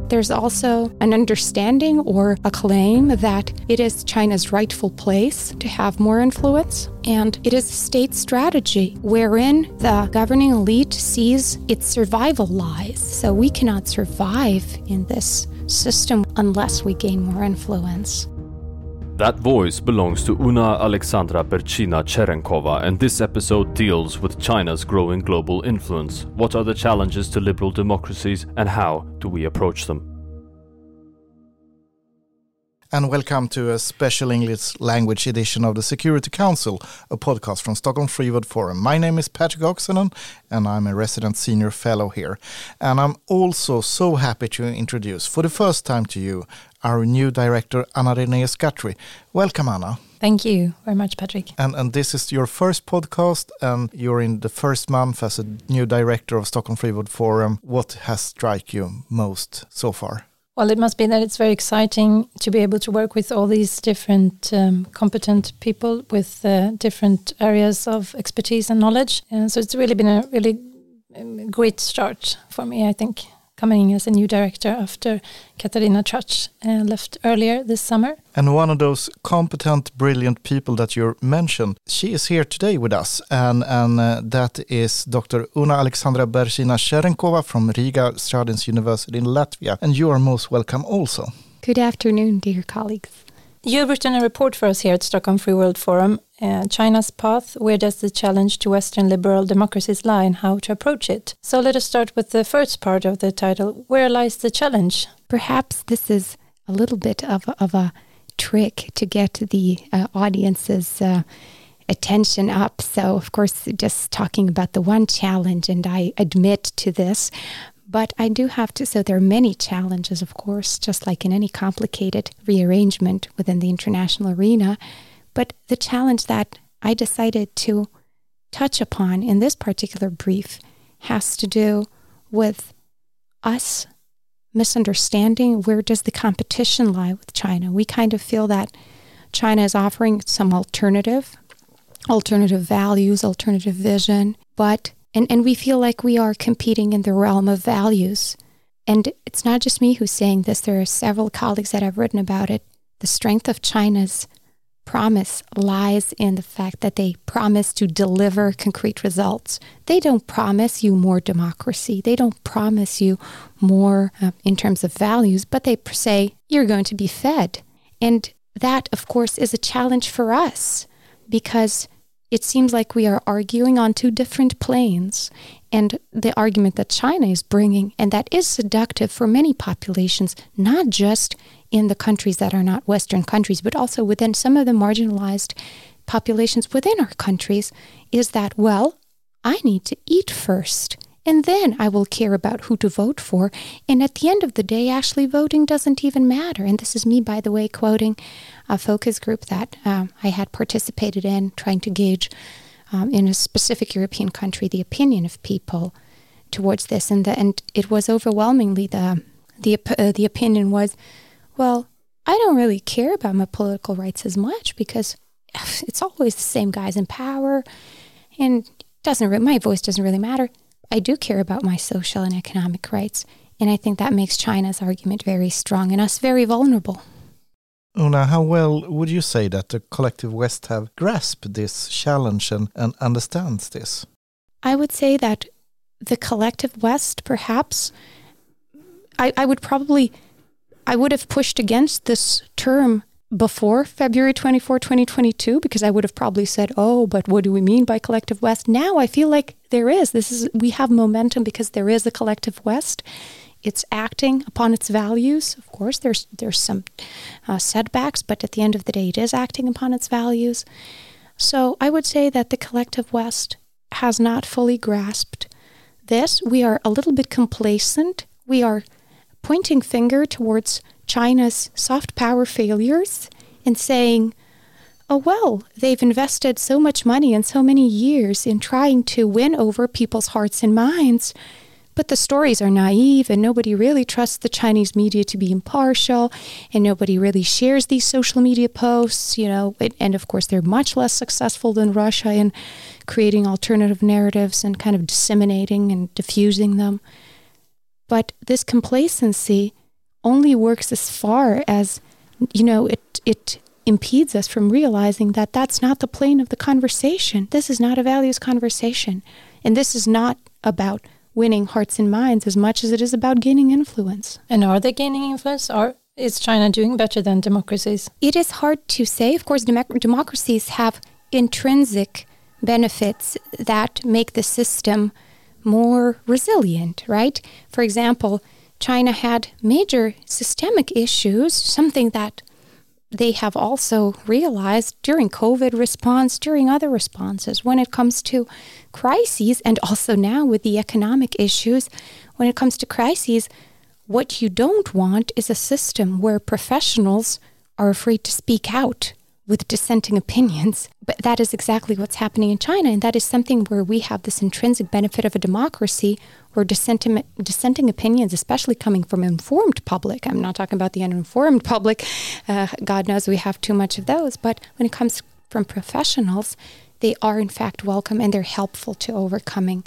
There's also an understanding or a claim that it is China's rightful place to have more influence, and it is a state strategy wherein the governing elite sees its survival lies. So we cannot survive in this system unless we gain more influence. That voice belongs to Una Alexandra Bercina Cherenkova, and this episode deals with China's growing global influence. What are the challenges to liberal democracies, and how do we approach them? And welcome to a special English language edition of the Security Council, a podcast from Stockholm Free World Forum. My name is Patrick Oksanen, and I'm a resident senior fellow here. And I'm also so happy to introduce, for the first time to you, our new director, Anna Renée Skatry. Welcome, Anna. Thank you very much, Patrick. And this is your first podcast, and you're in the first month as a new director of Stockholm Free World Forum. What has struck you most so far? Well, it must be that it's very exciting to be able to work with all these different competent people with different areas of expertise and knowledge. And so it's really been a really great start for me, I think, coming as a new director after Katarina Trach left earlier this summer. And one of those competent, brilliant people that you mentioned, she is here today with us, and that is Dr. Una Alexandra Bercina Cherenkova from Riga Stradiņš University in Latvia. And you are most welcome also. Good afternoon, dear colleagues. You've written a report for us here at Stockholm Free World Forum, China's Path, Where Does the Challenge to Western Liberal Democracies Lie and How to Approach It? So let us start with the first part of the title, Where Lies the Challenge? Perhaps this is a little bit of a trick to get the audience's attention up. So, of course, just talking about the one challenge, and I admit to this, but I do have to, so there are many challenges, of course, just like in any complicated rearrangement within the international arena. But the challenge that I decided to touch upon in this particular brief has to do with us misunderstanding where does the competition lie with China. We kind of feel that China is offering some alternative values, alternative vision, but And we feel like we are competing in the realm of values. And it's not just me who's saying this. There are several colleagues that have written about it. The strength of China's promise lies in the fact that they promise to deliver concrete results. They don't promise you more democracy. They don't promise you more in terms of values, but they say you're going to be fed. And that, of course, is a challenge for us because it seems like we are arguing on two different planes, and the argument that China is bringing, and that is seductive for many populations, not just in the countries that are not Western countries, but also within some of the marginalized populations within our countries, is that, well, I need to eat first, and then I will care about who to vote for. And at the end of the day, actually voting doesn't even matter. And this is me, by the way, quoting a focus group that I had participated in, trying to gauge in a specific European country the opinion of people towards this. And it was overwhelmingly, the opinion was, well, I don't really care about my political rights as much because it's always the same guys in power, and my voice doesn't really matter. I do care about my social and economic rights, and I think that makes China's argument very strong and us very vulnerable. Una, how well would you say that the collective West have grasped this challenge and understands this? I would say that the collective West, perhaps, I would have pushed against this term before February 24, 2022, because I would have probably said, oh, but what do we mean by collective West? Now I feel like there is. We have momentum because there is a collective West. It's acting upon its values. Of course, there's some setbacks, but at the end of the day, it is acting upon its values. So I would say that the collective West has not fully grasped this. We are a little bit complacent. We are pointing finger towards China's soft power failures and saying, oh, well, they've invested so much money and so many years in trying to win over people's hearts and minds, but the stories are naive and nobody really trusts the Chinese media to be impartial, and nobody really shares these social media posts, and of course they're much less successful than Russia in creating alternative narratives and kind of disseminating and diffusing them. But this complacency only works as far as, it impedes us from realizing that that's not the plane of the conversation. This is not a values conversation. And this is not about winning hearts and minds as much as it is about gaining influence. And are they gaining influence, or is China doing better than democracies? It is hard to say. Of course, democracies have intrinsic benefits that make the system more resilient, right? For example, China had major systemic issues, something that they have also realized during COVID response, during other responses, when it comes to crises, and also now with the economic issues, when it comes to crises, what you don't want is a system where professionals are afraid to speak out with dissenting opinions. But that is exactly what's happening in China, and that is something where we have this intrinsic benefit of a democracy where dissenting opinions, especially coming from informed public, I'm not talking about the uninformed public, God knows we have too much of those, but when it comes from professionals, they are in fact welcome and they're helpful to overcoming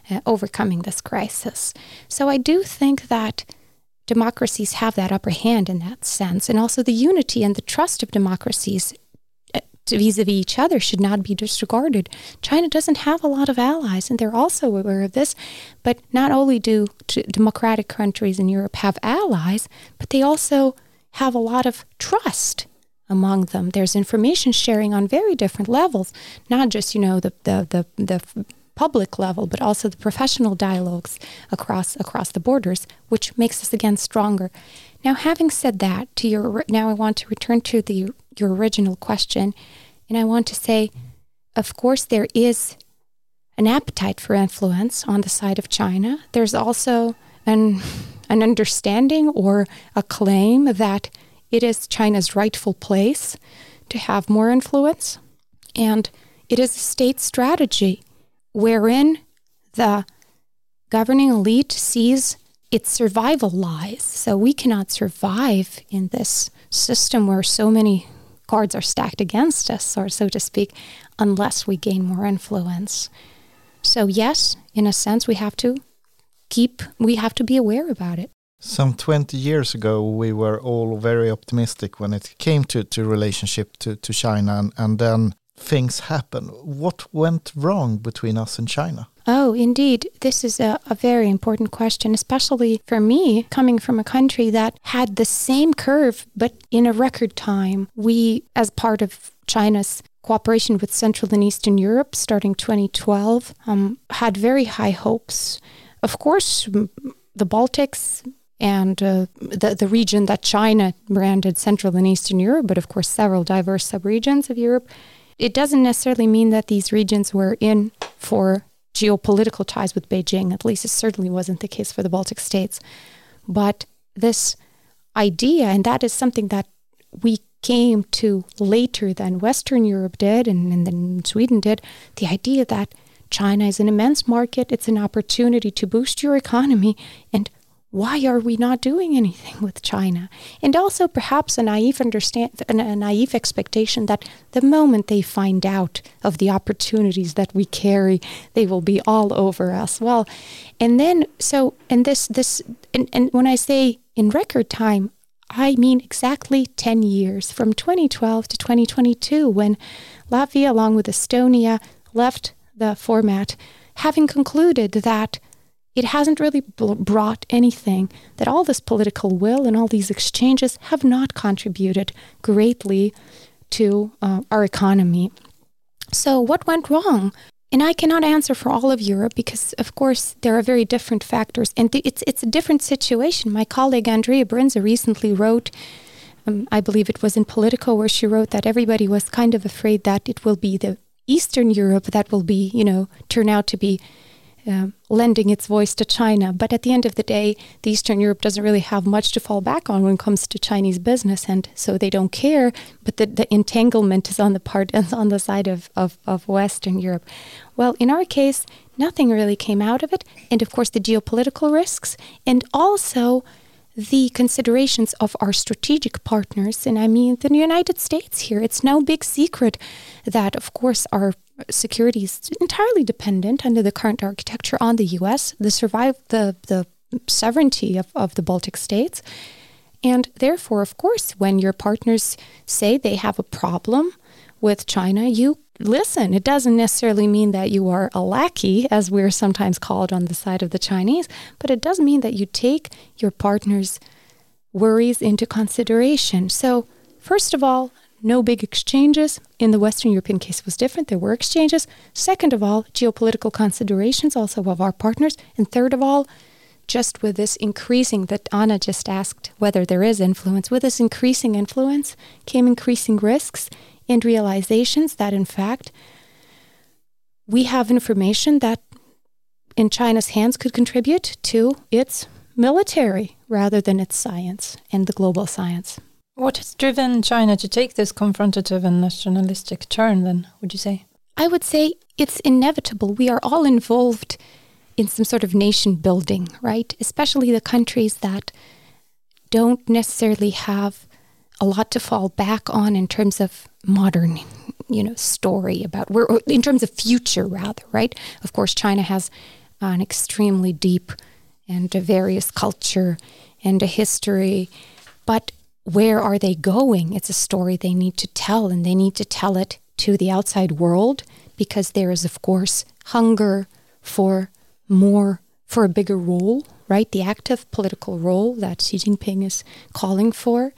this crisis. So I do think that democracies have that upper hand in that sense, and also the unity and the trust of democracies vis-a-vis each other should not be disregarded. China doesn't have a lot of allies, and they're also aware of this, but not only do democratic countries in Europe have allies, but they also have a lot of trust among them. There's information sharing on very different levels, not just, the public level, but also the professional dialogues across the borders, which makes us again stronger. Now, having said that, now I want to return to your original question, and I want to say, of course, there is an appetite for influence on the side of China. There's also an understanding or a claim that it is China's rightful place to have more influence, and it is a state strategy wherein the governing elite sees its survival lies. So we cannot survive in this system where so many cards are stacked against us, or so to speak, unless we gain more influence. So yes, in a sense, we have to be aware about it. Some 20 years ago, we were all very optimistic when it came to relationship to China, and then things happen. What went wrong between us and China? Oh, indeed. This is a very important question, especially for me, coming from a country that had the same curve, but in a record time. We, as part of China's cooperation with Central and Eastern Europe, starting 2012, had very high hopes. Of course, the Baltics and the region that China branded Central and Eastern Europe, but of course several diverse subregions of Europe, it doesn't necessarily mean that these regions were in for geopolitical ties with Beijing. At least it certainly wasn't the case for the Baltic states. But this idea, and that is something that we came to later than Western Europe did and then Sweden did, the idea that China is an immense market, it's an opportunity to boost your economy, and why are we not doing anything with China? And also perhaps a naive expectation that the moment they find out of the opportunities that we carry, they will be all over us. Well, and then and when I say in record time, I mean exactly 10 years, from 2012 to 2022, when Latvia, along with Estonia, left the format, having concluded that it hasn't really brought anything, that all this political will and all these exchanges have not contributed greatly to our economy. So what went wrong? And I cannot answer for all of Europe because, of course, there are very different factors. And it's a different situation. My colleague Andrea Brinza recently wrote, I believe it was in Politico, where she wrote that everybody was kind of afraid that it will be the Eastern Europe that will be, turn out to be lending its voice to China. But at the end of the day, the Eastern Europe doesn't really have much to fall back on when it comes to Chinese business, and so they don't care. But the entanglement is on the side of Western Europe. Well, in our case, nothing really came out of it. And of course, the geopolitical risks, and also the considerations of our strategic partners. And I mean, the United States here. It's no big secret that, of course, our security is entirely dependent under the current architecture on the U.S., the sovereignty of the Baltic states. And therefore, of course, when your partners say they have a problem with China, you listen. It doesn't necessarily mean that you are a lackey, as we're sometimes called on the side of the Chinese, but it does mean that you take your partner's worries into consideration. So, first of all, no big exchanges. In the Western European case, it was different. There were exchanges. Second of all, geopolitical considerations also of our partners. And third of all, just with this increasing, that Anna just asked whether there is influence, with this increasing influence came increasing risks and realizations that, in fact, we have information that in China's hands could contribute to its military rather than its science and the global science. What has driven China to take this confrontative and nationalistic turn then, would you say? I would say it's inevitable. We are all involved in some sort of nation building, right? Especially the countries that don't necessarily have a lot to fall back on in terms of modern, story about in terms of future rather, right? Of course, China has an extremely deep and a various culture and a history, but where are they going? It's a story they need to tell, and they need to tell it to the outside world because there is, of course, hunger for more, for a bigger role, right? The active political role that Xi Jinping is calling for.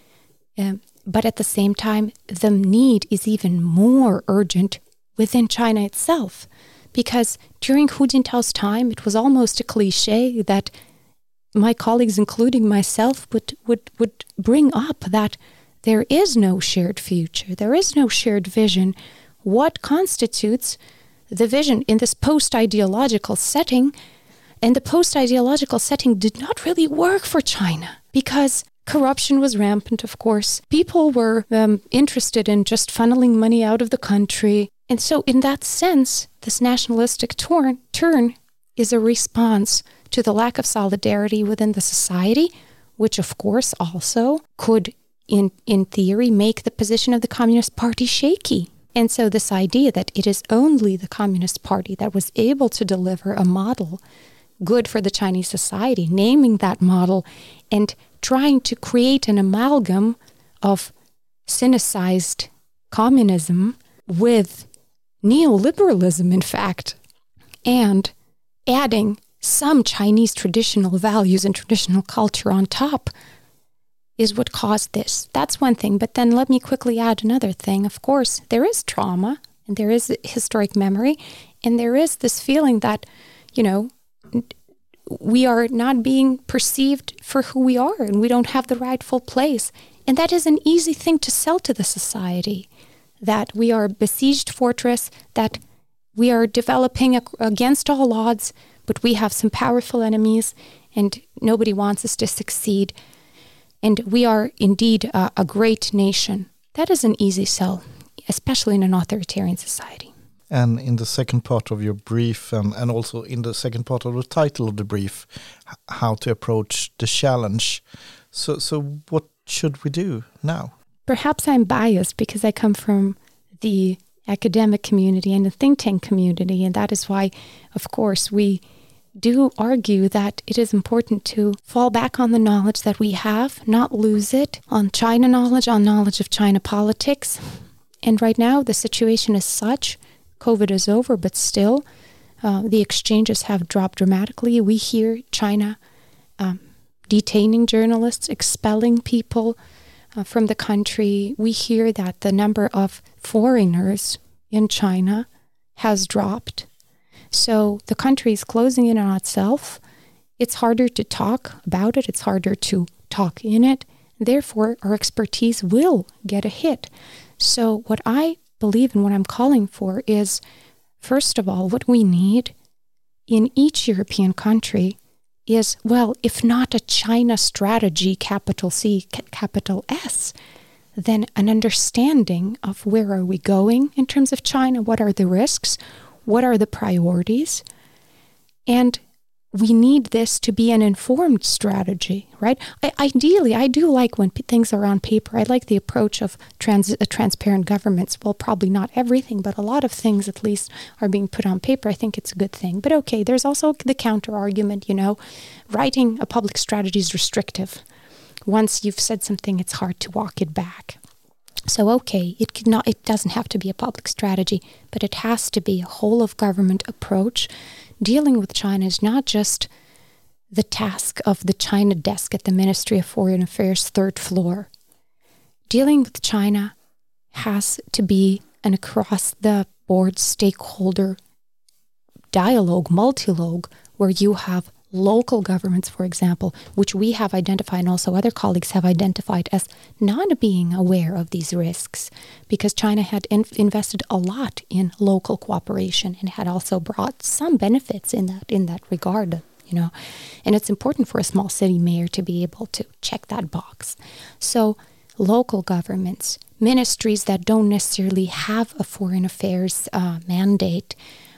But at the same time, the need is even more urgent within China itself. Because during Hu Jintao's time, it was almost a cliche that my colleagues, including myself, would bring up that there is no shared future, there is no shared vision. What constitutes the vision in this post-ideological setting? And the post-ideological setting did not really work for China because corruption was rampant, of course. People were interested in just funneling money out of the country. And so in that sense, this nationalistic turn is a response to the lack of solidarity within the society, which of course also could, in theory, make the position of the Communist Party shaky. And so this idea that it is only the Communist Party that was able to deliver a model good for the Chinese society, naming that model and trying to create an amalgam of Sinicized communism with neoliberalism, in fact, and adding some Chinese traditional values and traditional culture on top is what caused this. That's one thing. But then let me quickly add another thing. Of course, there is trauma and there is historic memory and there is this feeling that, we are not being perceived for who we are and we don't have the rightful place. And that is an easy thing to sell to the society, that we are a besieged fortress, that we are developing against all odds, but we have some powerful enemies and nobody wants us to succeed. And we are indeed a great nation. That is an easy sell, especially in an authoritarian society. And in the second part of your brief, and also in the second part of the title of the brief, how to approach the challenge. So what should we do now? Perhaps I'm biased because I come from the academic community and the think tank community, and that is why, of course, we do argue that it is important to fall back on the knowledge that we have, not lose it, on China knowledge, on knowledge of China politics. And right now, the situation is such, COVID is over, but still, the exchanges have dropped dramatically. We hear China detaining journalists, expelling people from the country. We hear that the number of foreigners in China has dropped. So the country is closing in on itself. It's harder to talk about it. It's harder to talk in it. Therefore, our expertise will get a hit. So what I believe and what I'm calling for is, first of all, what we need in each European country is, well, if not a China strategy, capital C, capital S, then an understanding of where are we going in terms of China, what are the risks, what are the priorities, and we need this to be an informed strategy, right? Ideally, I do like when things are on paper. I like the approach of transparent governments. Well, probably not everything, but a lot of things at least are being put on paper. I think it's a good thing. But okay, there's also the counter argument, writing a public strategy is restrictive. once you've said something, it's hard to walk it back. So, okay, it doesn't have to be a public strategy, but it has to be a whole of government approach. Dealing with China is not just the task of the China desk at the Ministry of Foreign Affairs, third floor. Dealing with China has to be an across-the-board stakeholder dialogue, multilogue, where you have local governments, for example, which we have identified and also other colleagues have identified as not being aware of these risks, because China had invested a lot in local cooperation and had also brought some benefits in that regard, and it's important for a small city mayor to be able to check that box. So local governments, ministries that don't necessarily have a foreign affairs mandate,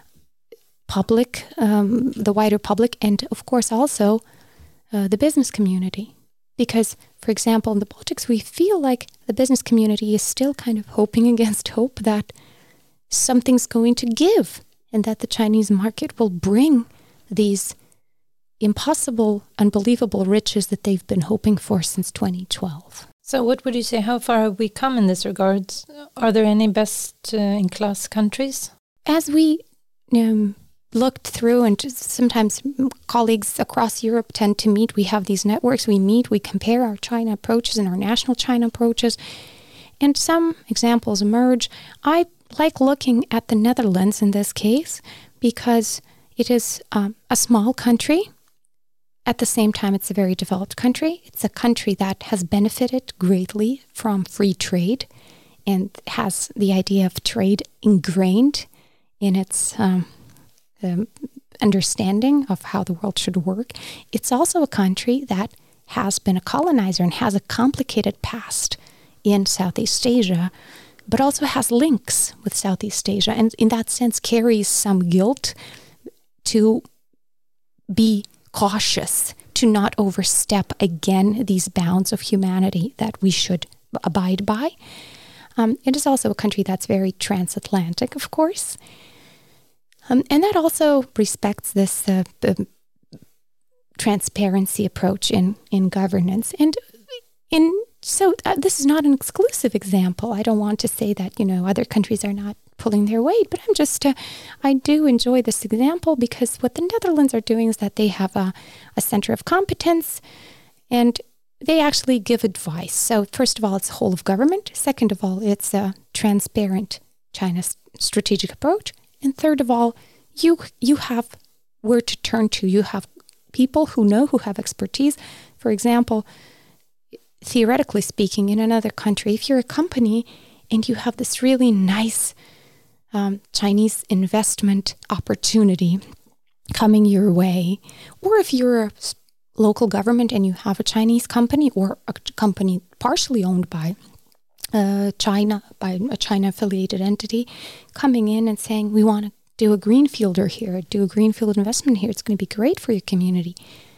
public, the wider public, and of course also the business community. Because, for example, in the Baltics, we feel like the business community is still kind of hoping against hope that something's going to give and that the Chinese market will bring these impossible, unbelievable riches that they've been hoping for since 2012. So what would you say, how far have we come in this regard? Are there any best-in-class countries? As we looked through, and sometimes colleagues across Europe tend to meet. We have these networks, we meet, we compare our China approaches and our national China approaches, and some examples emerge. I like looking at the Netherlands in this case because it is a small country. At the same time, it's a very developed country. It's a country that has benefited greatly from free trade and has the idea of trade ingrained in its understanding of how the world should work. It's also a country that has been a colonizer and has a complicated past in Southeast Asia, but also has links with Southeast Asia, and in that sense carries some guilt to be cautious, to not overstep again these bounds of humanity that we should abide by. It is also a country that's very transatlantic, of course. And that also respects this transparency approach in governance. And so this is not an exclusive example. I don't want to say that, other countries are not pulling their weight, but I do enjoy this example because what the Netherlands are doing is that they have a center of competence and they actually give advice. So first of all, it's whole of government. Second of all, it's a transparent China's strategic approach. And third of all, you have where to turn to. You have people who have expertise. For example, theoretically speaking, in another country, if you're a company and you have this really nice Chinese investment opportunity coming your way, or if you're a local government and you have a Chinese company or a company partially owned by China, by a China-affiliated entity, coming in and saying, we want to do a greenfielder here, do a greenfield investment here, it's going to be great for your community.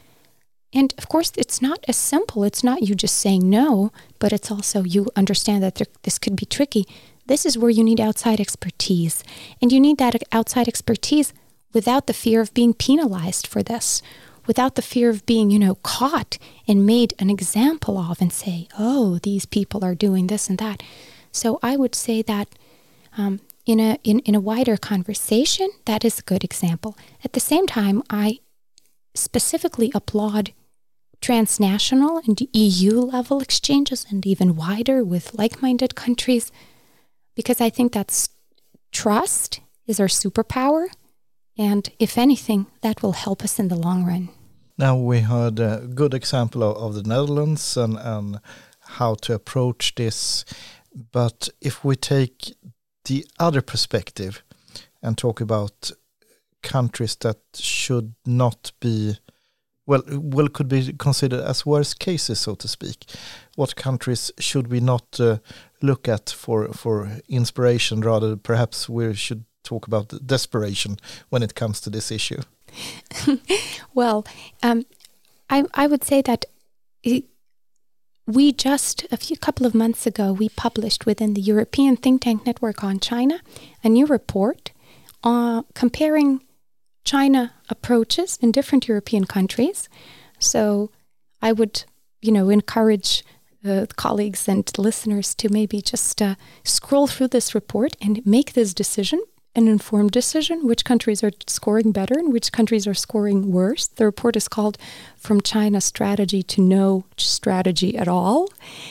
And of course, it's not as simple. It's not you just saying no, but it's also you understand that this could be tricky. This is where you need outside expertise. And you need that outside expertise without the fear of being penalized for this, without the fear of being, caught and made an example of and say, oh, these people are doing this and that. So I would say that in a wider conversation, that is a good example. At the same time, I specifically applaud transnational and EU level exchanges and even wider with like-minded countries, because I think that's trust is our superpower. And if anything, that will help us in the long run. Now we heard a good example of the Netherlands and how to approach this. But if we take the other perspective and talk about countries that should not be, could be considered as worst cases, so to speak. What countries should we not look at for inspiration? Rather, perhaps we should talk about desperation when it comes to this issue. Well, I would say that we just couple of months ago, we published within the European Think Tank Network on China a new report comparing China approaches in different European countries. So I would encourage colleagues and listeners to maybe just scroll through this report and make this decision, an informed decision, which countries are scoring better and which countries are scoring worse. The report is called From China Strategy to No Strategy at All.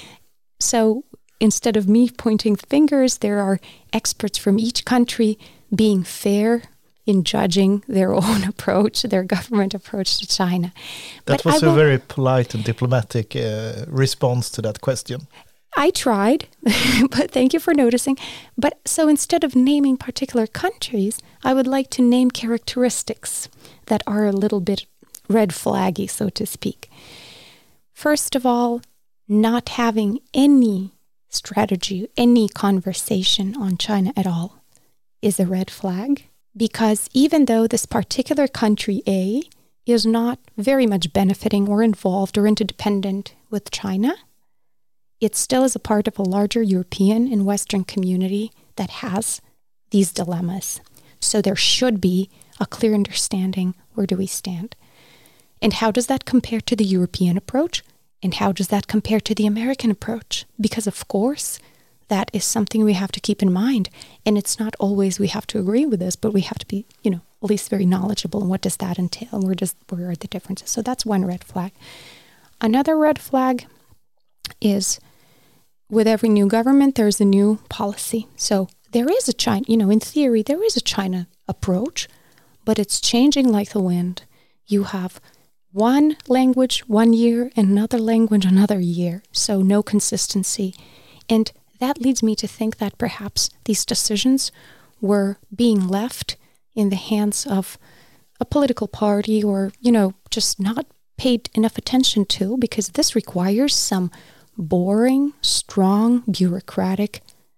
So instead of me pointing fingers, there are experts from each country being fair in judging their own approach, their government approach to China. That was a very polite and diplomatic response to that question. I tried, but thank you for noticing. But so instead of naming particular countries, I would like to name characteristics that are a little bit red flaggy, so to speak. First of all, not having any strategy, any conversation on China at all is a red flag. Because even though this particular country A is not very much benefiting or involved or interdependent with China, it still is a part of a larger European and Western community that has these dilemmas. So there should be a clear understanding, where do we stand? And how does that compare to the European approach? And how does that compare to the American approach? Because of course, that is something we have to keep in mind. And it's not always we have to agree with this, but we have to be, at least very knowledgeable. And what does that entail? And where are the differences? So that's one red flag. Another red flag is with every new government, there's a new policy. So there is a China, in theory, there is a China approach, but it's changing like the wind. You have one language 1 year and another language another year. So no consistency. And that leads me to think that perhaps these decisions were being left in the hands of a political party or, just not paid enough attention to, because this requires some boring, strong, bureaucratic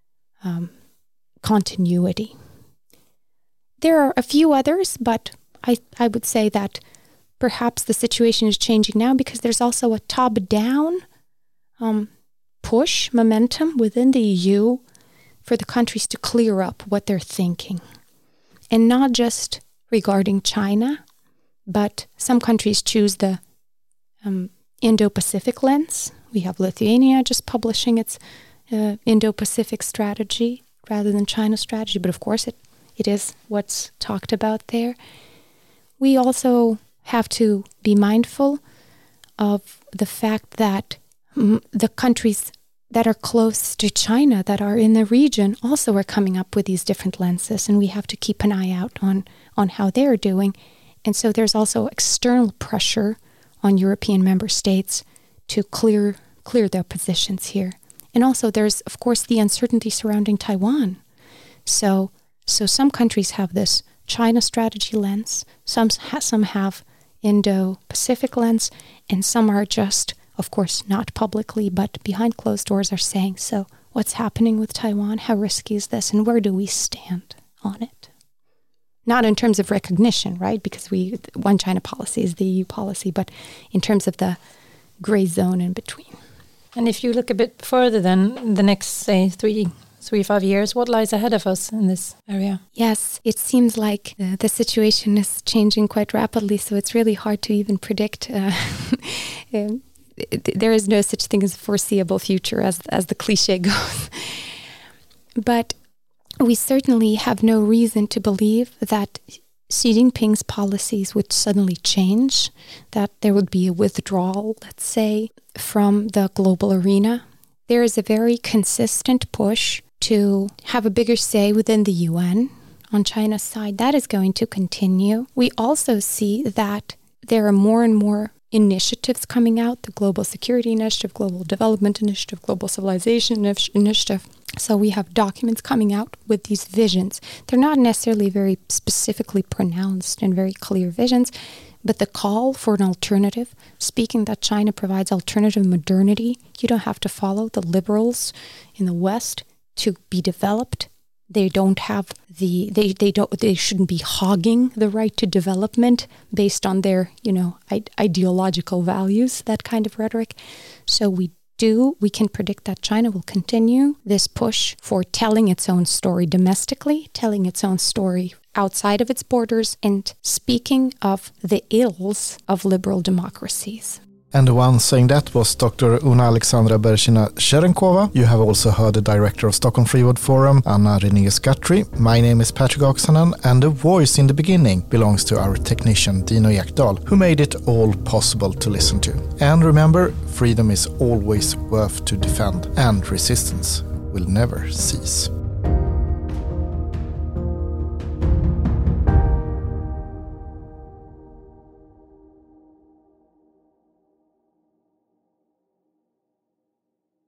continuity. There are a few others, but I would say that perhaps the situation is changing now because there's also a top-down push momentum within the EU for the countries to clear up what they're thinking. And not just regarding China, but some countries choose the Indo-Pacific lens. We have Lithuania just publishing its Indo-Pacific strategy rather than China strategy, but of course it is what's talked about there. We also have to be mindful of the fact that the countries that are close to China, that are in the region, also are coming up with these different lenses, and we have to keep an eye out on how they're doing. And so there's also external pressure on European member states to clear their positions here. And also there's, of course, the uncertainty surrounding Taiwan. So some countries have this China strategy lens, some have Indo-Pacific lens, and some are just, of course, not publicly, but behind closed doors are saying, so what's happening with Taiwan? How risky is this? And where do we stand on it? Not in terms of recognition, right? Because one China policy is the EU policy, but in terms of the gray zone in between. And if you look a bit further than the next, say, 3-5 years, what lies ahead of us in this area? Yes, it seems like the situation is changing quite rapidly, so it's really hard to even predict. There is no such thing as a foreseeable future, as the cliche goes. But we certainly have no reason to believe that Xi Jinping's policies would suddenly change, that there would be a withdrawal, let's say, from the global arena. There is a very consistent push to have a bigger say within the UN on China's side. That is going to continue. We also see that there are more and more initiatives coming out, the Global Security Initiative, Global Development Initiative, Global Civilization Initiative. So we have documents coming out with these visions. They're not necessarily very specifically pronounced and very clear visions, but the call for an alternative, speaking that China provides alternative modernity, you don't have to follow the liberals in the West to be developed. They don't have they shouldn't be hogging the right to development based on their, ideological values, that kind of rhetoric. So we can predict that China will continue this push for telling its own story domestically, telling its own story outside of its borders, and speaking of the ills of liberal democracies. And the one saying that was Dr. Una Alexandra Berchina-Cherenkova. You have also heard the director of Stockholm Free World Forum, Anna Renée-Skatry. My name is Patrick Oksanen, and the voice in the beginning belongs to our technician Dino Ekdahl, who made it all possible to listen to. And remember, freedom is always worth to defend, and resistance will never cease.